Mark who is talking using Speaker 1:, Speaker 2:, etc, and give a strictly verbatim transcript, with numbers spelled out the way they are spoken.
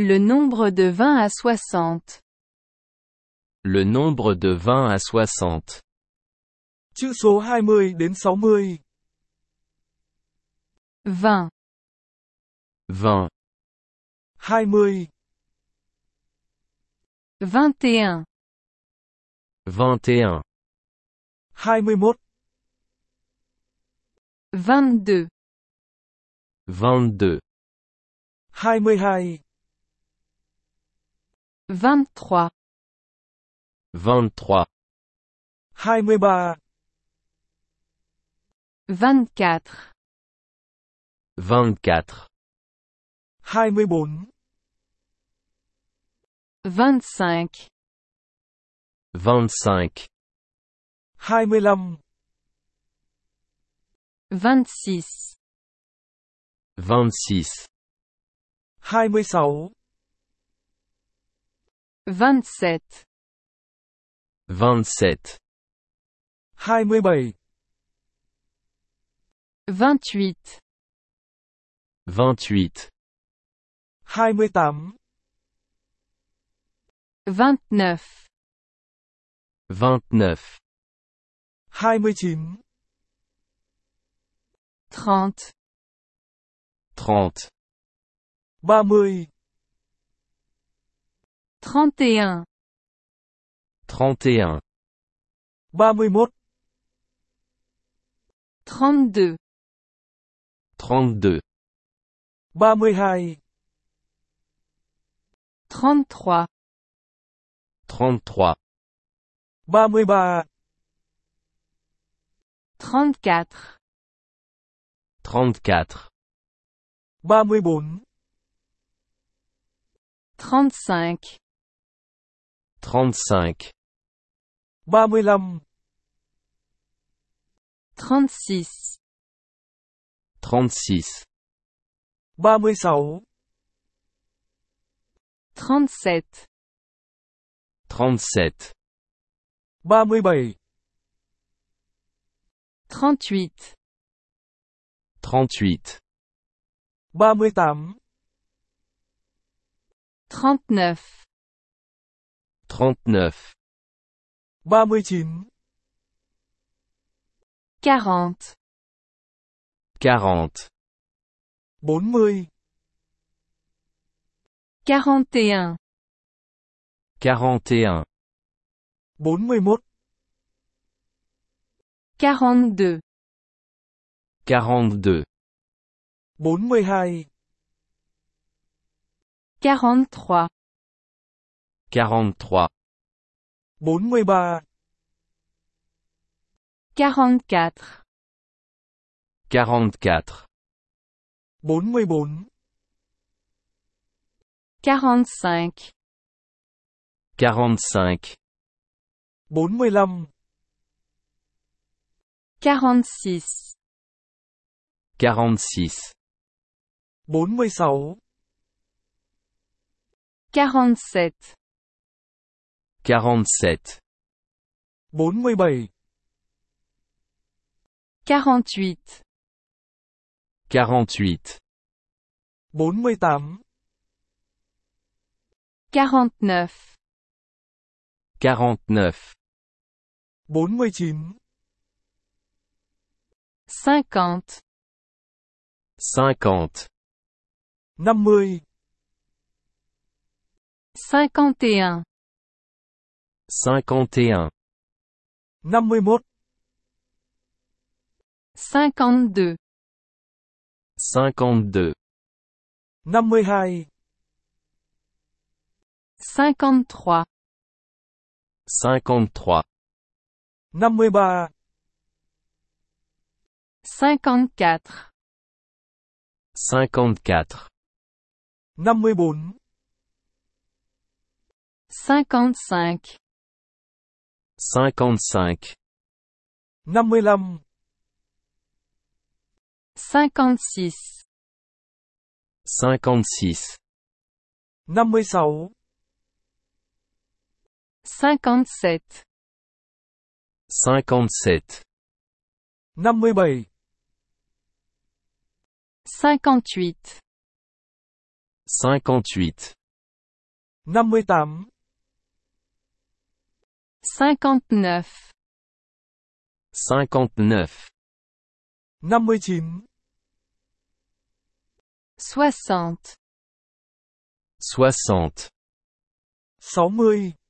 Speaker 1: Le nombre de vingt à soixante.
Speaker 2: Le nombre de vingt à soixante.
Speaker 3: Chữ số hai mươi đến sáu mươi.
Speaker 1: vingt.
Speaker 2: vingt.
Speaker 3: hai mươi.
Speaker 1: vingt et un.
Speaker 2: vingt et un.
Speaker 3: hai mươi mốt.
Speaker 1: vingt-deux.
Speaker 2: vingt-deux.
Speaker 3: hai mươi hai.
Speaker 1: vingt-trois.
Speaker 2: vingt-trois.
Speaker 3: hai mươi ba.
Speaker 1: vingt-quatre.
Speaker 2: vingt-quatre.
Speaker 3: hai mươi bốn.
Speaker 1: vingt-cinq.
Speaker 2: vingt-cinq.
Speaker 3: hai mươi lăm.
Speaker 1: vingt-six.
Speaker 2: vingt-six.
Speaker 3: hai mươi sáu.
Speaker 1: vingt-sept.
Speaker 2: vingt-sept.
Speaker 3: hai mươi bảy.
Speaker 1: vingt-huit.
Speaker 2: vingt-huit.
Speaker 3: hai mươi tám.
Speaker 1: vingt-neuf.
Speaker 2: vingt-neuf.
Speaker 3: hai mươi chín.
Speaker 1: trente.
Speaker 2: trente.
Speaker 3: ba mươi.
Speaker 1: trente et un.
Speaker 2: trente et un.
Speaker 3: ba mươi mốt.
Speaker 1: trente-deux.
Speaker 2: trente-deux.
Speaker 3: ba mươi hai.
Speaker 1: trente-trois.
Speaker 2: trente-trois.
Speaker 3: ba mươi ba.
Speaker 1: trente-quatre.
Speaker 2: trente-quatre.
Speaker 3: ba mươi bốn.
Speaker 1: trente-cinq.
Speaker 2: trente-cinq.
Speaker 3: ba mươi lăm.
Speaker 1: trente-six.
Speaker 2: trente-six.
Speaker 3: ba mươi sáu.
Speaker 1: trente-sept.
Speaker 2: trente-sept.
Speaker 3: ba mươi bảy.
Speaker 1: trente-huit.
Speaker 2: trente-huit.
Speaker 3: ba mươi tám.
Speaker 1: trente-neuf.
Speaker 2: trente-neuf.
Speaker 3: ba mươi chín.
Speaker 1: quarante.
Speaker 2: quarante.
Speaker 3: bốn mươi.
Speaker 1: quarante et un.
Speaker 2: quarante et un.
Speaker 3: bốn mươi mốt.
Speaker 1: quarante-deux.
Speaker 2: quarante-deux.
Speaker 3: bốn mươi hai.
Speaker 1: quarante-trois.
Speaker 2: quarante-trois.
Speaker 3: bốn mươi ba.
Speaker 1: quarante-quatre.
Speaker 2: quarante-quatre.
Speaker 3: bốn mươi bốn.
Speaker 1: quarante-cinq.
Speaker 2: quarante-cinq.
Speaker 3: bốn mươi lăm.
Speaker 1: quarante-six.
Speaker 2: quarante-six.
Speaker 3: bốn mươi sáu.
Speaker 1: quarante-sept.
Speaker 2: quarante-sept.
Speaker 3: bốn mươi bảy.
Speaker 1: quarante-huit.
Speaker 2: quarante-huit.
Speaker 3: bốn mươi tám.
Speaker 1: quarante-neuf.
Speaker 2: quarante-neuf.
Speaker 3: bốn mươi chín.
Speaker 1: cinquante.
Speaker 2: cinquante.
Speaker 3: năm mươi.
Speaker 1: cinquante et un.
Speaker 2: cinquante et un.
Speaker 3: năm mươi mốt.
Speaker 1: cinquante-deux.
Speaker 2: cinquante-deux.
Speaker 3: năm mươi hai.
Speaker 1: cinquante-trois.
Speaker 2: cinquante-trois.
Speaker 3: năm mươi ba.
Speaker 1: cinquante-quatre.
Speaker 2: cinquante-quatre.
Speaker 3: năm mươi bốn.
Speaker 1: cinquante-cinq.
Speaker 2: cinquante-cinq.
Speaker 3: năm mươi lăm.
Speaker 1: cinquante-six.
Speaker 2: cinquante-six.
Speaker 3: năm mươi sáu.
Speaker 1: cinquante-sept.
Speaker 2: cinquante-sept.
Speaker 3: năm mươi bảy.
Speaker 1: cinquante-huit.
Speaker 2: cinquante-huit.
Speaker 3: năm mươi tám,
Speaker 1: cinquante-neuf,
Speaker 2: cinquante-neuf,
Speaker 3: năm mươi chín,
Speaker 1: soixante,
Speaker 2: soixante,
Speaker 3: sáu mươi,